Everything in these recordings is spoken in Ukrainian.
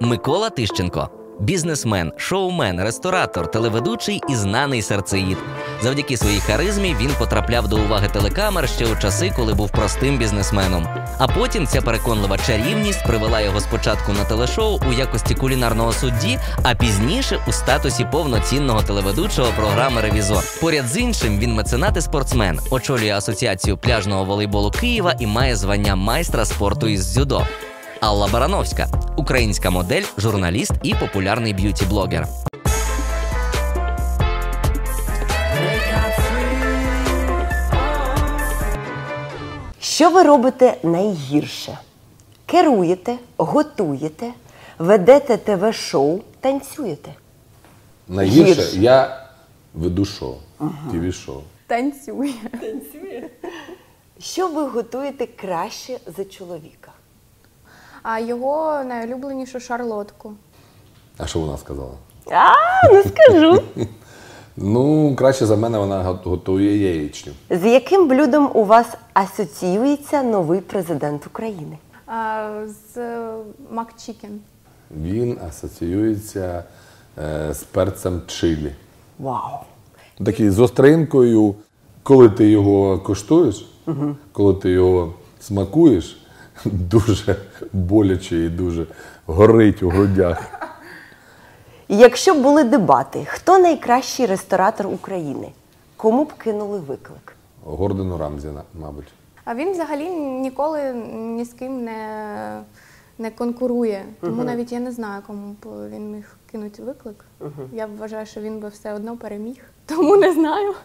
Микола Тищенко – бізнесмен, шоумен, ресторатор, телеведучий і знаний серцеїд. Завдяки своїй харизмі він потрапляв до уваги телекамер ще у часи, коли був простим бізнесменом. А потім ця переконлива чарівність привела його спочатку на телешоу у якості кулінарного судді, а пізніше у статусі повноцінного телеведучого програми «Ревізор». Поряд з іншим він меценат і спортсмен, очолює Асоціацію пляжного волейболу Києва і має звання майстра спорту із дзюдо. Алла Барановська – українська модель, журналіст і популярний б'юті-блогер. Що ви робите найгірше? Керуєте, готуєте, ведете ТВ-шоу, танцюєте? Найгірше я веду шоу, ТВ-шоу. Танцює. Що ви готуєте краще за чоловіка? А його найулюбленішу шарлотку. А що вона сказала? Не скажу. Ну, краще за мене вона готує яєчню. З яким блюдом у вас асоціюється новий президент України? З макчікен. Він асоціюється з перцем чилі. Вау! Такий з остринкою, коли ти його коштуєш, коли ти його смакуєш, дуже боляче і дуже горить у грудях. Якщо б були дебати, хто найкращий ресторатор України? Кому б кинули виклик? Гордону Рамзі, мабуть. А він взагалі ніколи ні з ким не конкурує. Тому навіть я не знаю, кому б він міг кинути виклик. Я вважаю, що він би все одно переміг. Тому не знаю.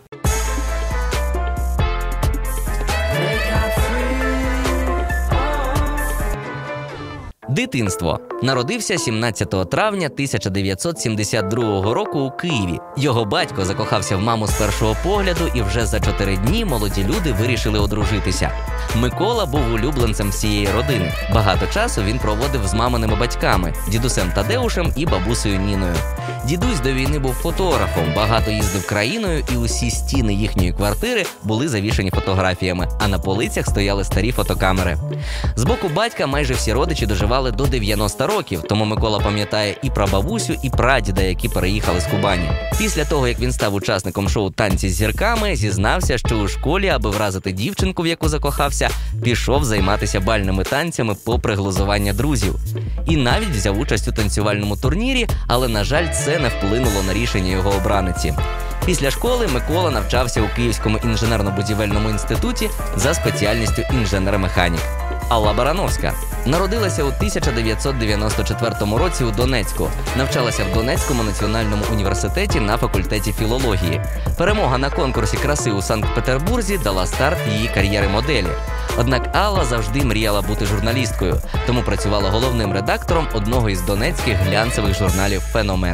Дитинство. Народився 17 травня 1972 року у Києві. Його батько закохався в маму з першого погляду, і вже за 4 дні молоді люди вирішили одружитися. Микола був улюбленцем всієї родини. Багато часу він проводив з маминими батьками – дідусем Тадеушем і бабусею Ніною. Дідусь до війни був фотографом, багато їздив країною, і усі стіни їхньої квартири були завішані фотографіями, а на полицях стояли старі фотокамери. З боку батька майже всі родичі доживали до 90 років, тому Микола пам'ятає і прабабусю, і прадіда, які переїхали з Кубані. Після того, як він став учасником шоу «Танці з зірками», зізнався, що у школі, аби вразити дівчинку, в яку закохався, пішов займатися бальними танцями попри глузування друзів. І навіть взяв участь у танцювальному турнірі, але, на жаль, це не вплинуло на рішення його обраниці. Після школи Микола навчався у Київському інженерно-будівельному інституті за спеціальністю інженер-механік. Алла Барановська народилася у 1994 році у Донецьку. Навчалася в Донецькому національному університеті на факультеті філології. Перемога на конкурсі краси у Санкт-Петербурзі дала старт її кар'єри моделі. Однак Алла завжди мріяла бути журналісткою, тому працювала головним редактором одного із донецьких глянцевих журналів «Феномен».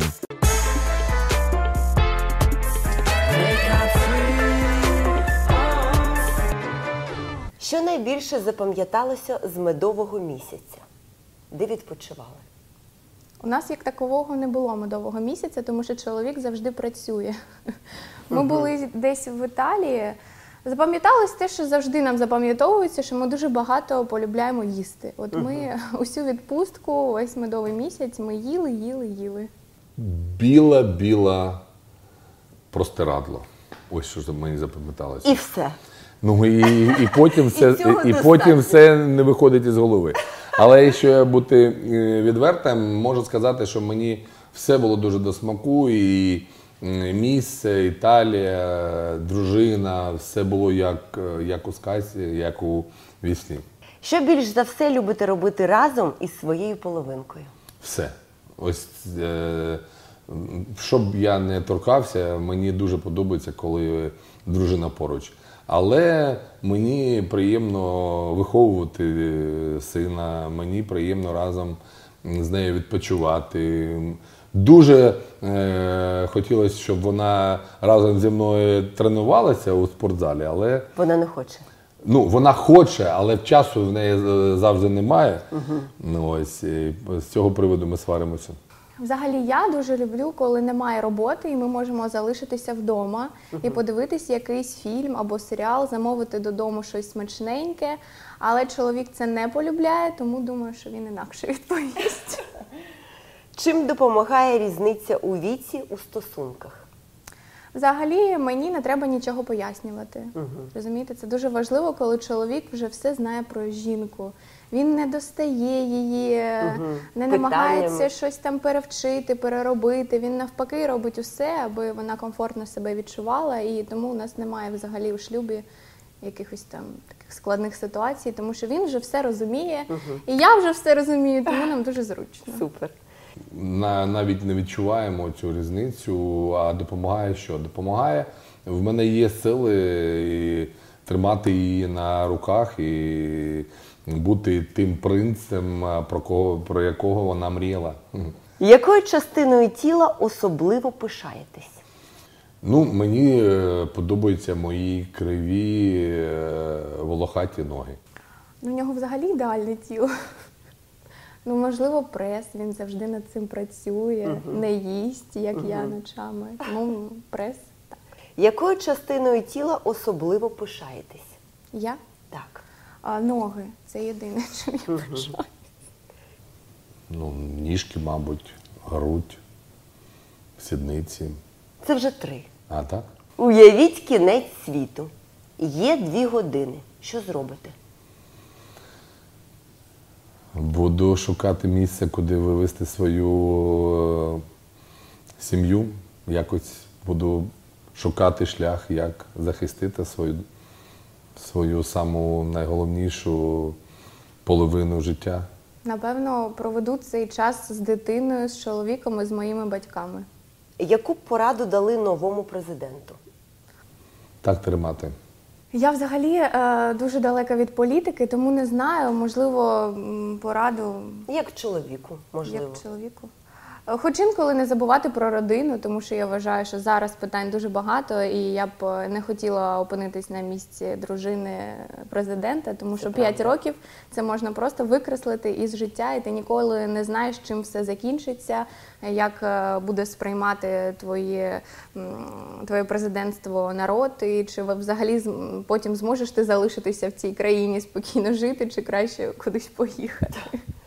Що найбільше запам'яталося з медового місяця? Де відпочивали? У нас як такового не було медового місяця, тому що чоловік завжди працює. Ми були десь в Італії. Запам'яталось те, що завжди нам запам'ятовується, що ми дуже багато полюбляємо їсти. От ми усю відпустку, весь медовий місяць, ми їли. Біла простирадло. Ось що мені запам'яталося. І все. Ну і потім все не виходить із голови. Але якщо бути відвертим, можу сказати, що мені все було дуже до смаку, і місце, Італія, дружина, все було як у сказці, як у вісні. Що більш за все любите робити разом із своєю половинкою? Все. Ось, щоб я не торкався, мені дуже подобається, коли дружина поруч. Але мені приємно виховувати сина, мені приємно разом з нею відпочивати. Дуже хотілося, щоб вона разом зі мною тренувалася у спортзалі, але... Вона не хоче? Ну, вона хоче, але часу в неї завжди немає. Ну, ось, з цього приводу ми сваримося. Взагалі, я дуже люблю, коли немає роботи, і ми можемо залишитися вдома і подивитися якийсь фільм або серіал, замовити додому щось смачненьке. Але чоловік це не полюбляє, тому думаю, що він інакше відповість. Чим допомагає різниця у віці у стосунках? Взагалі мені не треба нічого пояснювати. Розумієте, це дуже важливо, коли чоловік вже все знає про жінку. Він не достає її, не намагається щось там перевчити, переробити. Він навпаки робить усе, аби вона комфортно себе відчувала. І тому у нас немає взагалі у шлюбі якихось там таких складних ситуацій, тому що він вже все розуміє, і я вже все розумію, тому нам дуже зручно. Супер. Навіть не відчуваємо цю різницю, а допомагає що? Допомагає, в мене є сили і тримати її на руках і бути тим принцем, про якого вона мріяла. Якою частиною тіла особливо пишаєтесь? Ну, мені подобаються мої криві волохаті ноги. У нього взагалі ідеальне тіло. Ну, можливо, прес, він завжди над цим працює, не їсть, як я ночами. Тому прес, так. Якою частиною тіла особливо пишаєтесь? Я? Так. Ноги. Це єдине, чим я пишаю. Ну, ніжки, мабуть, грудь, сідниці. Це вже 3. А так? Уявіть кінець світу. Є 2 години. Що зробите? Буду шукати місце, куди вивезти свою сім'ю. Якось буду шукати шлях, як захистити свою саму найголовнішу половину життя. Напевно, проведу цей час з дитиною, з чоловіком і з моїми батьками. Яку б пораду дали новому президенту? Так тримати. Я взагалі дуже далека від політики, тому не знаю, можливо, пораду Як чоловіку, можливо. як чоловіку. Хоч інколи не забувати про родину, тому що я вважаю, що зараз питань дуже багато, і я б не хотіла опинитись на місці дружини президента, тому що 5 років це можна просто викреслити із життя, і ти ніколи не знаєш, чим все закінчиться, як буде сприймати твоє президентство народ, і чи взагалі потім зможеш ти залишитися в цій країні спокійно жити, чи краще кудись поїхати.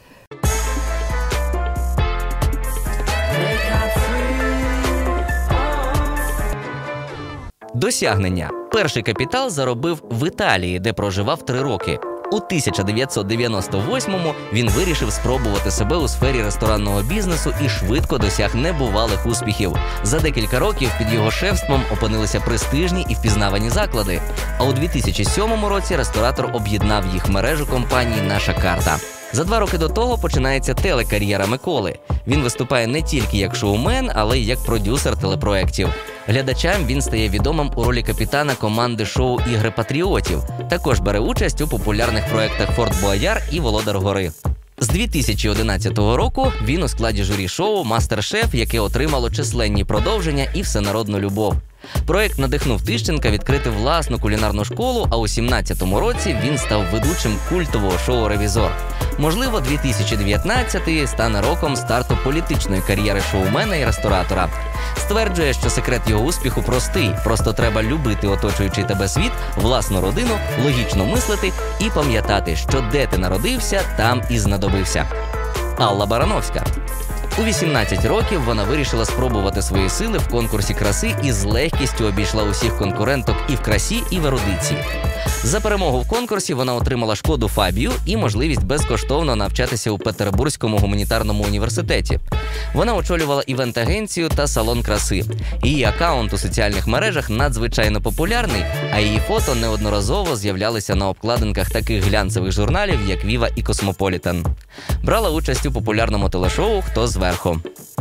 Досягнення. Перший капітал заробив в Італії, де проживав 3 роки. У 1998-му він вирішив спробувати себе у сфері ресторанного бізнесу і швидко досяг небувалих успіхів. За декілька років під його шефством опинилися престижні і впізнавані заклади. А у 2007 році ресторатор об'єднав їх в мережу компанії «Наша карта». За 2 роки до того починається телекар'єра Миколи. Він виступає не тільки як шоумен, але й як продюсер телепроєктів. Глядачам він стає відомим у ролі капітана команди шоу «Ігри патріотів». Також бере участь у популярних проєктах «Форт Боярд» і «Володар гори». З 2011 року він у складі журі шоу «Мастер-шеф», яке отримало численні продовження і всенародну любов. Проєкт надихнув Тищенка відкрити власну кулінарну школу, а у 2017 році він став ведучим культового шоу «Ревізор». Можливо, 2019-й стане роком старту політичної кар'єри шоумена і ресторатора. Стверджує, що секрет його успіху простий. Просто треба любити оточуючий тебе світ, власну родину, логічно мислити і пам'ятати, що де ти народився, там і знадобився. Алла Барановська. У 18 років вона вирішила спробувати свої сили в конкурсі краси і з легкістю обійшла усіх конкуренток і в красі, і в ерудиції. За перемогу в конкурсі вона отримала Шкоду Фабію і можливість безкоштовно навчатися у Петербурзькому гуманітарному університеті. Вона очолювала івент-агенцію та салон краси. Її акаунт у соціальних мережах надзвичайно популярний, а її фото неодноразово з'являлися на обкладинках таких глянцевих журналів, як «Віва» і «Космополітен». Брала участь у популярному телешоу «Хто зверху».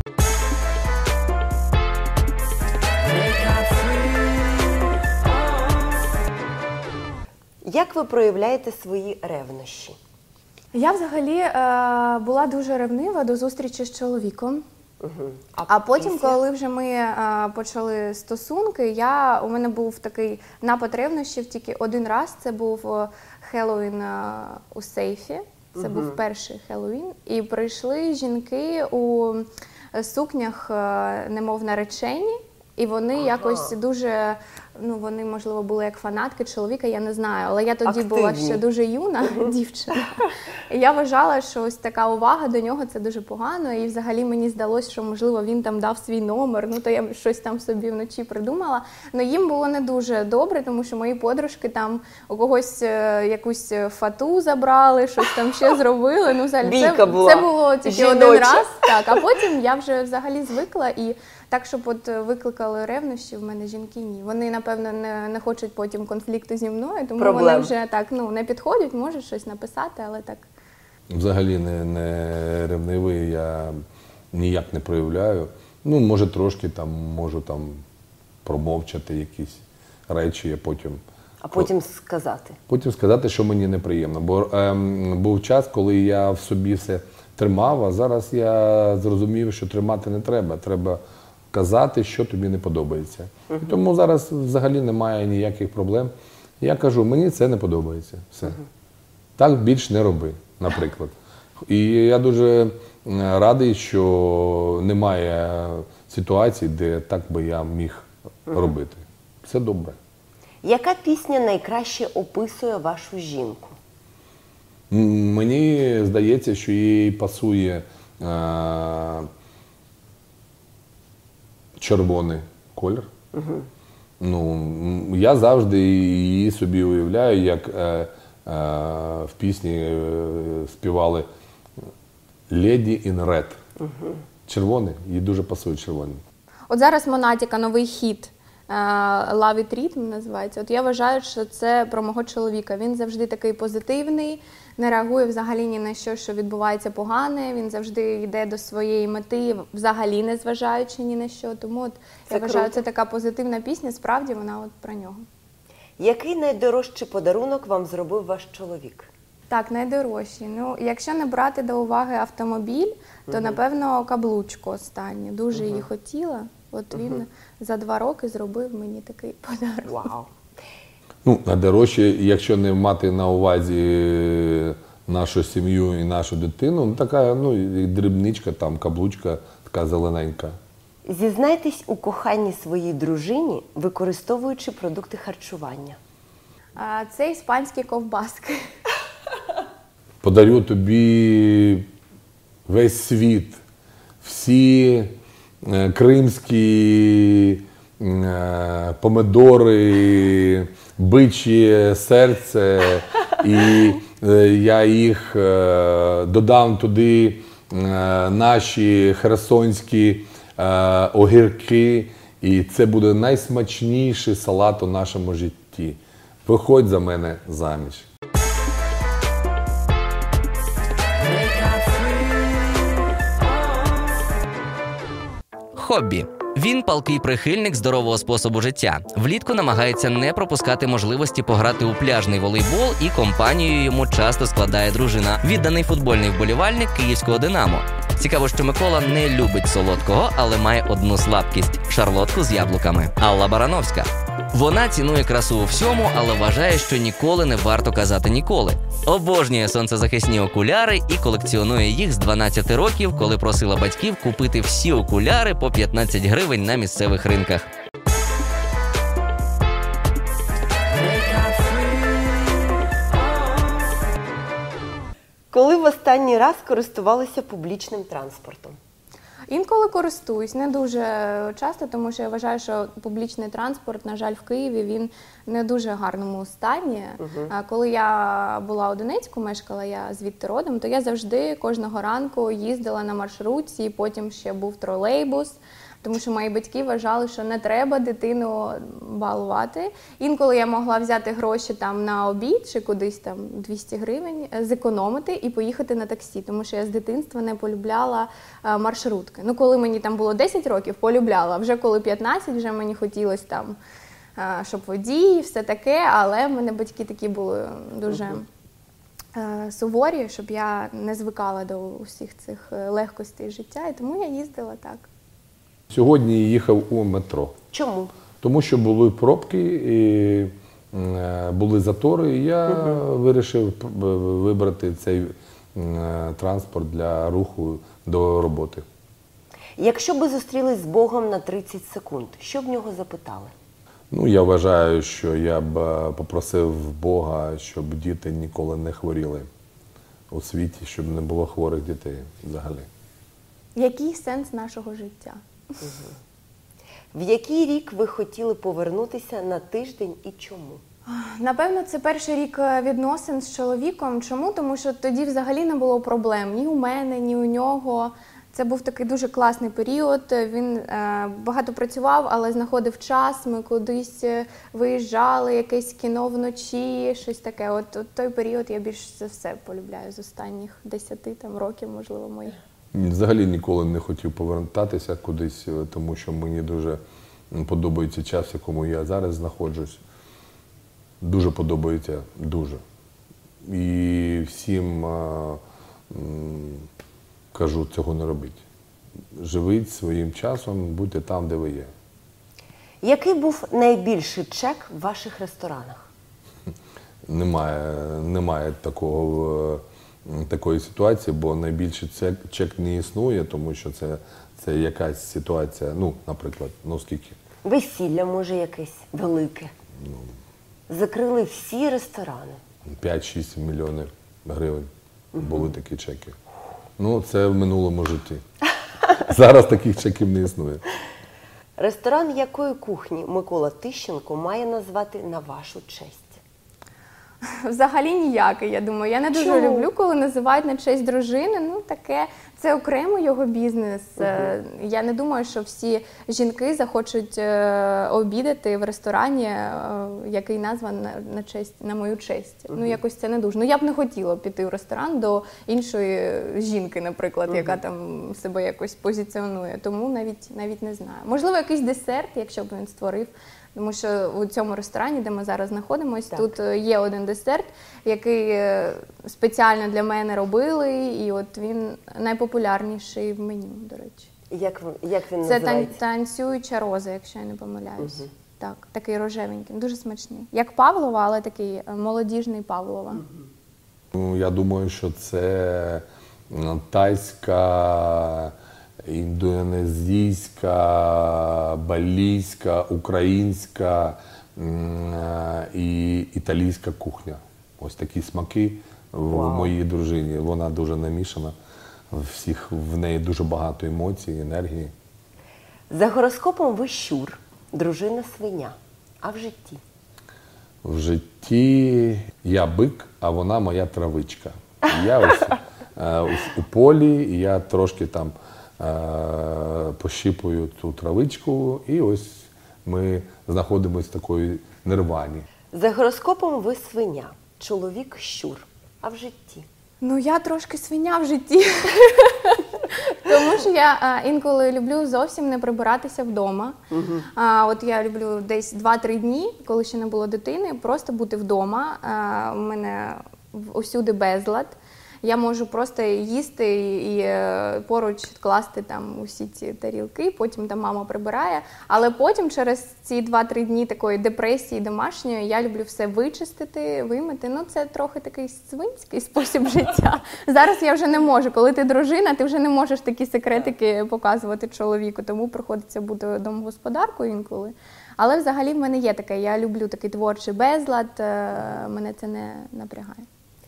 Як ви проявляєте свої ревнощі? Я взагалі була дуже ревнива до зустрічі з чоловіком. А потім, після? коли вже ми почали стосунки, у мене був такий напад ревнощів тільки один раз. Це був Хеллоуін у сейфі. Це був перший Хеллоуін. І прийшли жінки у сукнях, немов наречені. І вони якось дуже ну, вони, можливо, були як фанатки чоловіка, я не знаю. Але я тоді була Активні. ще дуже юна дівчина. І я вважала, що ось така увага до нього – це дуже погано. І взагалі мені здалося, що, можливо, він там дав свій номер, ну, то я щось там собі вночі придумала. Но їм було не дуже добре, тому що мої подружки там у когось якусь фату забрали, щось там ще зробили. Ну, взагалі, Бійка була. це було тільки один Жіноча. раз. Так, а потім я вже взагалі звикла і так, щоб от викликали ревнощі, в мене жінки ні. Вони, напевно, не хочуть потім конфлікту зі мною, тому Проблем. вони вже так, ну, не підходять, можуть щось написати, але так. Взагалі не ревнивий, я ніяк не проявляю. Ну, може, трошки там, можу там промовчати якісь речі, а Потім сказати. потім сказати, що мені неприємно. Бо був час, коли я в собі все тримав, а зараз я зрозумів, що тримати не треба. Треба казати, що тобі не подобається. І тому зараз взагалі немає ніяких проблем. Я кажу, мені це не подобається. Все. Так більш не роби, наприклад. І я дуже радий, що немає ситуації, де так би я міг робити. Все добре. Яка пісня найкраще описує вашу жінку? Мені здається, що їй пасує червоний колір. Ну, я завжди її собі уявляю, як в пісні співали «Lady in Red». Червоний, їй дуже пасує червоний. От зараз Монатіка новий хіт «Love It Rhythm» називається. От я вважаю, що це про мого чоловіка. Він завжди такий позитивний, не реагує взагалі ні на що відбувається погане. Він завжди йде до своєї мети, взагалі не зважаючи ні на що. Тому от я вважаю, круто. це така позитивна пісня, справді вона от про нього. Який найдорожчий подарунок вам зробив ваш чоловік? Так, найдорожчі. Ну, якщо не брати до уваги автомобіль, то, напевно, каблучку останню. Дуже її хотіла. От він за 2 роки зробив мені такий подарунок. Вау! Ну, найдорожче, якщо не мати на увазі нашу сім'ю і нашу дитину, ну, така, ну, дрібничка, там, каблучка, така зелененька. Зізнайтесь у коханні своїй дружині, використовуючи продукти харчування. Це іспанські ковбаски. Подарю тобі весь світ, всі кримські помидори, бичі серце, і я їх додам туди, наші херсонські огірки, і це буде найсмачніший салат у нашому житті. Виходь за мене заміж. Хобі. Він палкий прихильник здорового способу життя. Влітку намагається не пропускати можливості пограти у пляжний волейбол, і компанію йому часто складає дружина. Відданий футбольний вболівальник київського «Динамо». Цікаво, що Микола не любить солодкого, але має одну слабкість – шарлотку з яблуками. Алла Барановська. Вона цінує красу у всьому, але вважає, що ніколи не варто казати ніколи. Обожнює сонцезахисні окуляри і колекціонує їх з 12 років, коли просила батьків купити всі окуляри по 15 гривень на місцевих ринках. Коли в останній раз користувалися публічним транспортом? Інколи користуюсь, не дуже часто, тому що я вважаю, що публічний транспорт, на жаль, в Києві, він не дуже гарному стані. Коли я була у Донецьку, мешкала я звідти родом, то я завжди кожного ранку їздила на маршрутці, і потім ще був тролейбус. Тому що мої батьки вважали, що не треба дитину балувати. Інколи я могла взяти гроші там на обід чи кудись там 200 гривень, зекономити і поїхати на таксі, тому що я з дитинства не полюбляла маршрутки. Ну, коли мені там було 10 років, полюбляла. Вже коли 15, вже мені хотілося там, щоб водій, все таке, але в мене батьки такі були дуже суворі, щоб я не звикала до усіх цих легкостей життя, і тому я їздила так. Сьогодні їхав у метро. Чому? Тому що були пробки, і були затори, і я вирішив вибрати цей транспорт для руху до роботи. Якщо би зустрілись з Богом на 30 секунд, що б в нього запитали? Ну, я вважаю, що я б попросив Бога, щоб діти ніколи не хворіли у світі, щоб не було хворих дітей взагалі. Який сенс нашого життя? В який рік ви хотіли повернутися на тиждень і чому? Напевно, це перший рік відносин з чоловіком. Чому? Тому що тоді взагалі не було проблем ні у мене, ні у нього. Це був такий дуже класний період. Він багато працював, але знаходив час. Ми кудись виїжджали, якесь кіно вночі, щось таке. От той період я більш за все полюбляю з останніх 10 років, можливо, моїх. Взагалі ніколи не хотів повертатися кудись, тому що мені дуже подобається час, в якому я зараз знаходжусь. Дуже подобається, дуже. І всім кажу, цього не робіть. Живіть своїм часом, будьте там, де ви є. Який був найбільший чек в ваших ресторанах? Немає такої ситуації, бо найбільший чек не існує, тому що це якась ситуація, ну, наприклад, скільки? Весілля, може, якесь велике? Закрили всі ресторани. 5-6 мільйонів гривень були такі чеки. Ну, це в минулому житті. Зараз таких чеків не існує. Ресторан якої кухні Микола Тищенко має назвати на вашу честь? Взагалі ніякий, я думаю. Я не дуже Чому? люблю, коли називають на честь дружини. Ну, таке, це окремо його бізнес. Я не думаю, що всі жінки захочуть обідати в ресторані, який назван на мою честь. Ну, якось це не дуже. Ну, я б не хотіла піти в ресторан до іншої жінки, наприклад, яка там себе якось позиціонує. Тому навіть не знаю. Можливо, якийсь десерт, якщо б він створив. Тому що у цьому ресторані, де ми зараз знаходимося, тут є один десерт, який спеціально для мене робили, і от він найпопулярніший в меню, до речі. Як він Це називається? танцююча роза, якщо я не помиляюсь. Так, такий рожевенький, дуже смачний. Як Павлова, але такий молодіжний Павлова. Ну, я думаю, що це тайська, індонезійська, балійська, українська і італійська кухня. Ось такі смаки в моїй дружині. Вона дуже намішана. В неї дуже багато емоцій, енергії. За гороскопом ви щур, дружина свиня. А в житті? В житті я бик, а вона моя травичка. Я ось у полі, і я трошки там пощипую ту травичку, і ось ми знаходимося в такої нирвані. За гороскопом ви свиня, чоловік щур. А в житті? Ну, я трошки свиня в житті. Тому що я інколи люблю зовсім не прибиратися вдома. От я люблю десь 2-3 дні, коли ще не було дитини, просто бути вдома. У мене усюди безлад. Я можу просто їсти і поруч класти там усі ці тарілки, потім там мама прибирає. Але потім через ці 2-3 дні такої депресії домашньої я люблю все вичистити, вимити. Ну, це трохи такий свинський спосіб життя. Зараз я вже не можу. Коли ти дружина, ти вже не можеш такі секретики показувати чоловіку, тому приходиться бути домогосподаркою інколи. Але взагалі в мене є таке, я люблю такий творчий безлад, мене це не напрягає.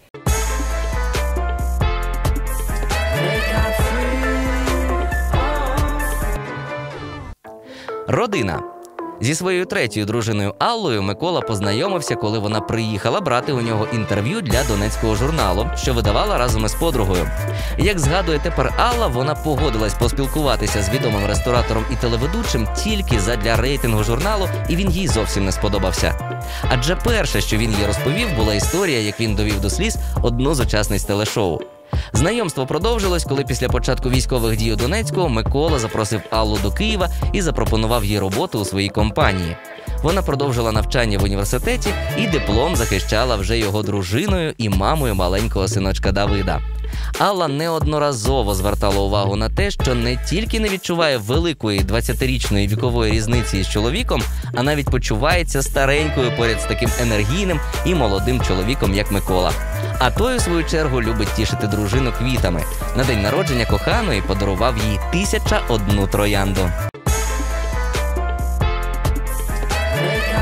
Родина. Зі своєю третьою дружиною Аллою Микола познайомився, коли вона приїхала брати у нього інтерв'ю для донецького журналу, що видавала разом із подругою. Як згадує тепер Алла, вона погодилась поспілкуватися з відомим ресторатором і телеведучим тільки задля рейтингу журналу, і він їй зовсім не сподобався. Адже перше, що він їй розповів, була історія, як він довів до сліз одну з учасниць телешоу. Знайомство продовжилось, коли після початку військових дій у Донецьку Микола запросив Аллу до Києва і запропонував їй роботу у своїй компанії. Вона продовжила навчання в університеті і диплом захищала вже його дружиною і мамою маленького синочка Давида. Алла неодноразово звертала увагу на те, що не тільки не відчуває великої 20-річної вікової різниці із чоловіком, а навіть почувається старенькою поряд з таким енергійним і молодим чоловіком, як Микола. А той, у свою чергу, любить тішити дружину квітами. На день народження коханої подарував їй 1001 троянду.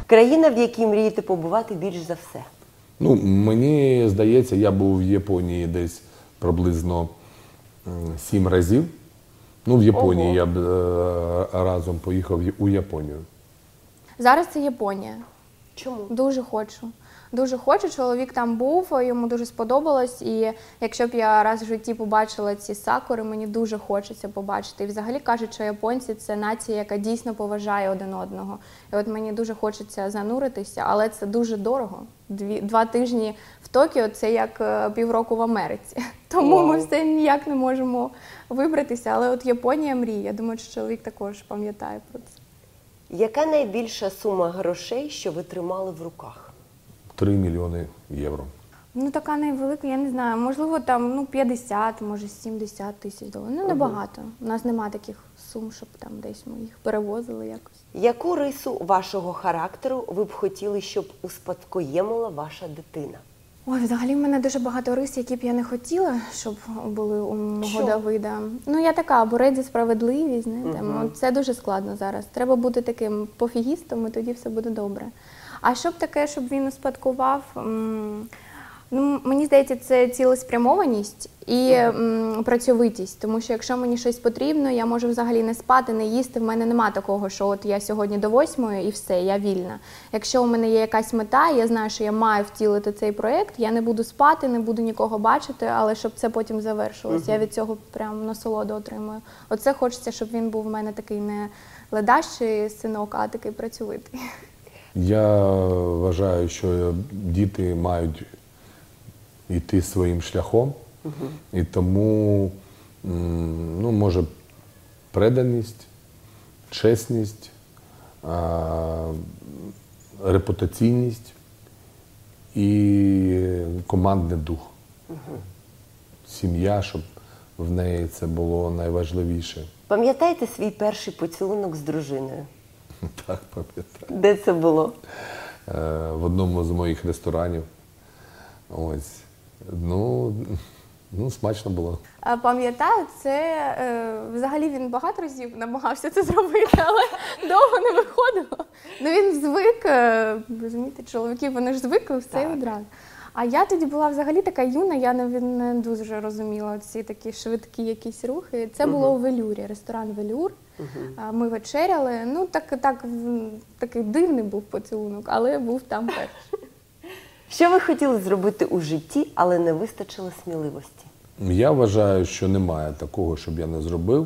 Країна, в якій мрієте побувати більш за все? Ну, мені здається, я був в Японії десь приблизно 7 разів. Ну, в Японії Ого. я б разом поїхав у Японію. Зараз це Японія. Чому? Дуже хочу. Дуже хочу. Чоловік там був, йому дуже сподобалось. І якщо б я раз в житті побачила ці сакури, мені дуже хочеться побачити. І взагалі кажуть, що японці – це нація, яка дійсно поважає один одного. І от мені дуже хочеться зануритися, але це дуже дорого. 2 тижні в Токіо – це як півроку в Америці. Тому ми Вау. все ніяк не можемо вибратися. Але от Японія мріє. Я думаю, що чоловік також пам'ятає про це. Яка найбільша сума грошей, що ви тримали в руках? 3 мільйони євро. Ну, така невелика, я не знаю, можливо, там 50, може 70 тисяч доларів. Ну, небагато. У нас нема таких сум, щоб там десь ми їх перевозили якось. Яку рису вашого характеру ви б хотіли, щоб успадкоємила ваша дитина? Ой, взагалі в мене дуже багато рис, які б я не хотіла, щоб були у мого Що? Давида. Ну, я така, борець за справедливість, знаєте. Це дуже складно зараз. Треба бути таким пофігістом, і тоді все буде добре. А щоб таке, щоб він успадкував, ну, мені здається, це цілеспрямованість і працьовитість. Тому що якщо мені щось потрібно, я можу взагалі не спати, не їсти. В мене нема такого, що от я сьогодні до 8 і все, я вільна. Якщо у мене є якась мета, я знаю, що я маю втілити цей проєкт, я не буду спати, не буду нікого бачити, але щоб це потім завершилось. Я від цього прям насолоду отримую. Оце хочеться, щоб він був в мене такий не ледащий синок, а такий працьовитий. Я вважаю, що діти мають йти своїм шляхом, і тому, ну, може, преданість, чесність, репутаційність і командний дух. Сім'я, щоб в неї це було найважливіше. Пам'ятаєте свій перший поцілунок з дружиною? Так, пам'ятаю. Де це було? В одному з моїх ресторанів. Ось. Ну, смачно було. Пам'ятаю, це взагалі він багато разів намагався це зробити, але довго не виходило. Ну він звик, розумієте, чоловіки, вони ж звикли все і одразу. А я тоді була взагалі така юна, я не дуже розуміла ці такі швидкі якісь рухи. Це було у Велюрі, ресторан Велюр. Ми вечеряли, ну такий дивний був поцілунок, але був там перший. Що ви хотіли зробити у житті, але не вистачило сміливості? Я вважаю, що немає такого, щоб я не зробив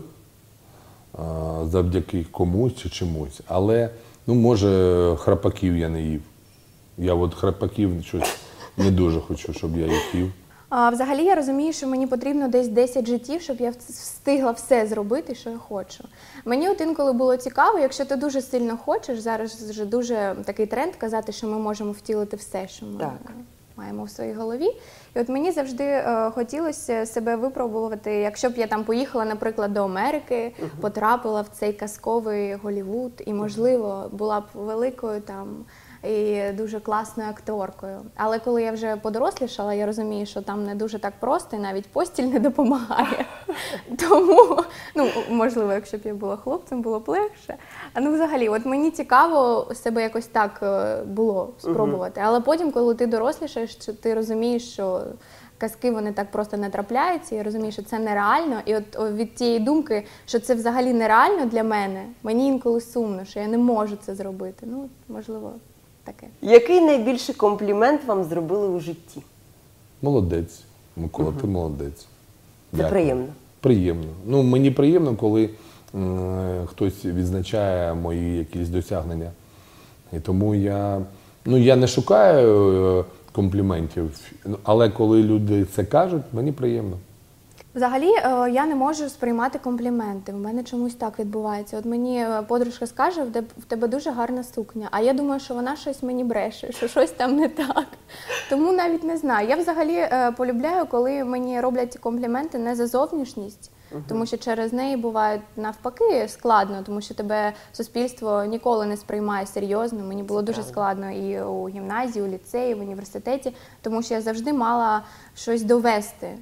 завдяки комусь чи чомусь. Але, ну, може, храпаків я не їв. Я от храпаків щось не дуже хочу, щоб я їх їв. Взагалі я розумію, що мені потрібно десь 10 життів, щоб я встигла все зробити, що я хочу. Мені от інколи було цікаво, якщо ти дуже сильно хочеш, зараз вже дуже такий тренд казати, що ми можемо втілити все, що ми маємо в своїй голові. І от мені завжди хотілося себе випробувати, якщо б я там поїхала, наприклад, до Америки, потрапила в цей казковий Голлівуд і, можливо, була б великою там і дуже класною акторкою. Але коли я вже подорослішала, я розумію, що там не дуже так просто, і навіть постіль не допомагає. Тому, ну, можливо, якщо б я була хлопцем, було б легше. Ну, взагалі, от мені цікаво себе якось так було спробувати. Але потім, коли ти дорослішаєш, ти розумієш, що казки, вони так просто не трапляються, я розумію, що це нереально. І от від тієї думки, що це взагалі нереально для мене, мені інколи сумно, що я не можу це зробити. Ну, можливо, таке. Який найбільший комплімент вам зробили у житті? Молодець. Микола, ти молодець. Це Дякую. приємно. Приємно. Ну, мені приємно, коли хтось відзначає мої якісь досягнення. І тому я не шукаю компліментів, але коли люди це кажуть, мені приємно. Взагалі, я не можу сприймати компліменти. В мене чомусь так відбувається. От мені подружка скаже, в тебе дуже гарна сукня, а я думаю, що вона щось мені бреше, що щось там не так. Тому навіть не знаю. Я взагалі полюбляю, коли мені роблять компліменти не за зовнішність, тому що через неї буває навпаки складно, тому що тебе суспільство ніколи не сприймає серйозно. Мені було дуже складно і у гімназії, у ліцеї, в університеті, тому що я завжди мала щось довести.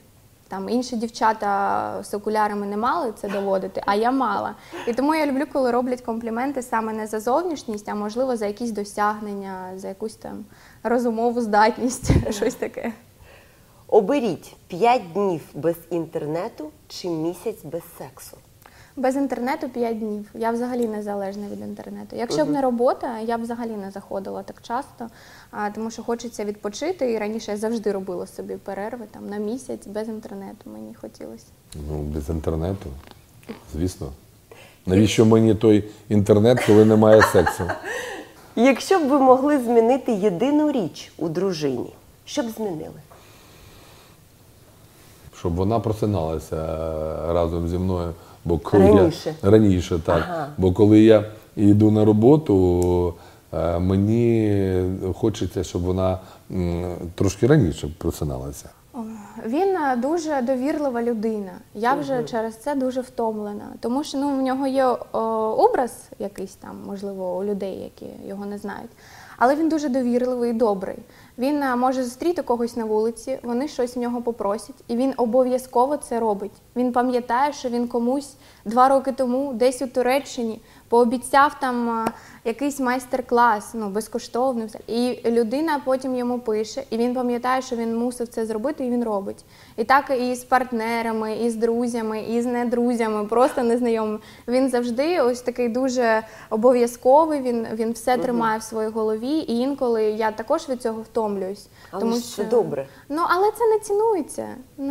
Там інші дівчата з окулярами не мали це доводити, а я мала. І тому я люблю, коли роблять компліменти саме не за зовнішність, а можливо за якісь досягнення, за якусь там розумову здатність, щось таке. Оберіть 5 днів без інтернету чи місяць без сексу. Без інтернету 5 днів. Я взагалі не залежна від інтернету. Якщо б не робота, я б взагалі не заходила так часто, тому що хочеться відпочити. І раніше я завжди робила собі перерви там, на місяць без інтернету. Мені хотілося. Ну, без інтернету, звісно. Навіщо мені той інтернет, коли немає сексу? Якщо б ви могли змінити єдину річ у дружині, що б змінили? Щоб вона просиналася разом зі мною. Бо коли Раніше? Раніше, так. Ага. Бо коли я йду на роботу, мені хочеться, щоб вона трошки раніше просиналася. Він дуже довірлива людина. Я вже через це дуже втомлена. Тому що в нього є образ якийсь там, можливо, у людей, які його не знають. Але він дуже довірливий і добрий. Він може зустріти когось на вулиці, вони щось в нього попросять, і він обов'язково це робить. Він пам'ятає, що він комусь 2 роки тому десь у Туреччині пообіцяв там якийсь майстер-клас, безкоштовний. І людина потім йому пише, і він пам'ятає, що він мусив це зробити, і він робить. І так і з партнерами, і з друзями, і з недрузями, просто незнайомими. Він завжди ось такий дуже обов'язковий, він все тримає в своїй голові, і інколи я також від цього втомлююсь. Але тому ж це добре. Але це не цінується.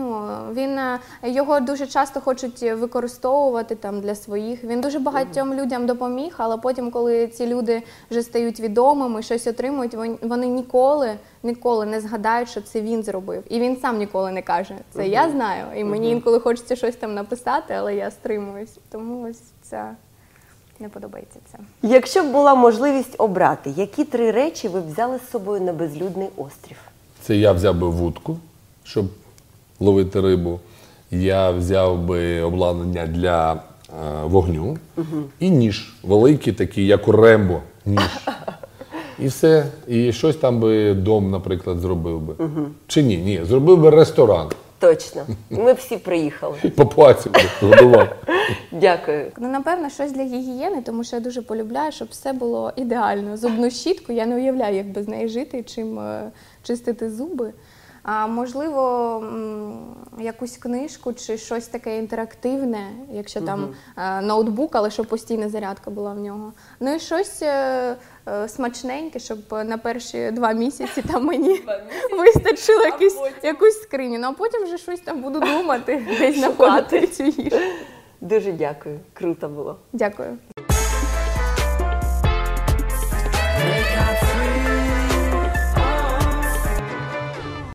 Його дуже часто хочуть використовувати там для своїх. Він дуже багатьом людям допоміг, але потім, коли ці люди вже стають відомими, щось отримують, вони ніколи не згадають, що це він зробив. І він сам ніколи не каже, це я знаю. І мені інколи хочеться щось там написати, але я стримуюсь. Тому ось це не подобається це. Якщо б була можливість обрати, які 3 речі ви б взяли з собою на безлюдний острів? Це я взяв би вудку, щоб ловити рибу. Я взяв би обладнання для вогню і ніж. Великий такий, як у Рембо, ніж. І все. І щось там би дом, наприклад, зробив би. Чи ні? Ні, зробив би ресторан. Точно. Ми всі приїхали. Папуасів годував. Дякую. Напевно, щось для гігієни, тому що я дуже полюбляю, щоб все було ідеально. Зубну щітку, я не уявляю, як без неї жити, чим чистити зуби. Можливо, якусь книжку чи щось таке інтерактивне, якщо там ноутбук, але щоб постійна зарядка була в нього. І щось смачненьке, щоб на перші 2 місяці там мені вистачило якусь скриню. А потім вже щось там буду думати, десь знаходити цю їжу. Дуже дякую. Круто було. Дякую.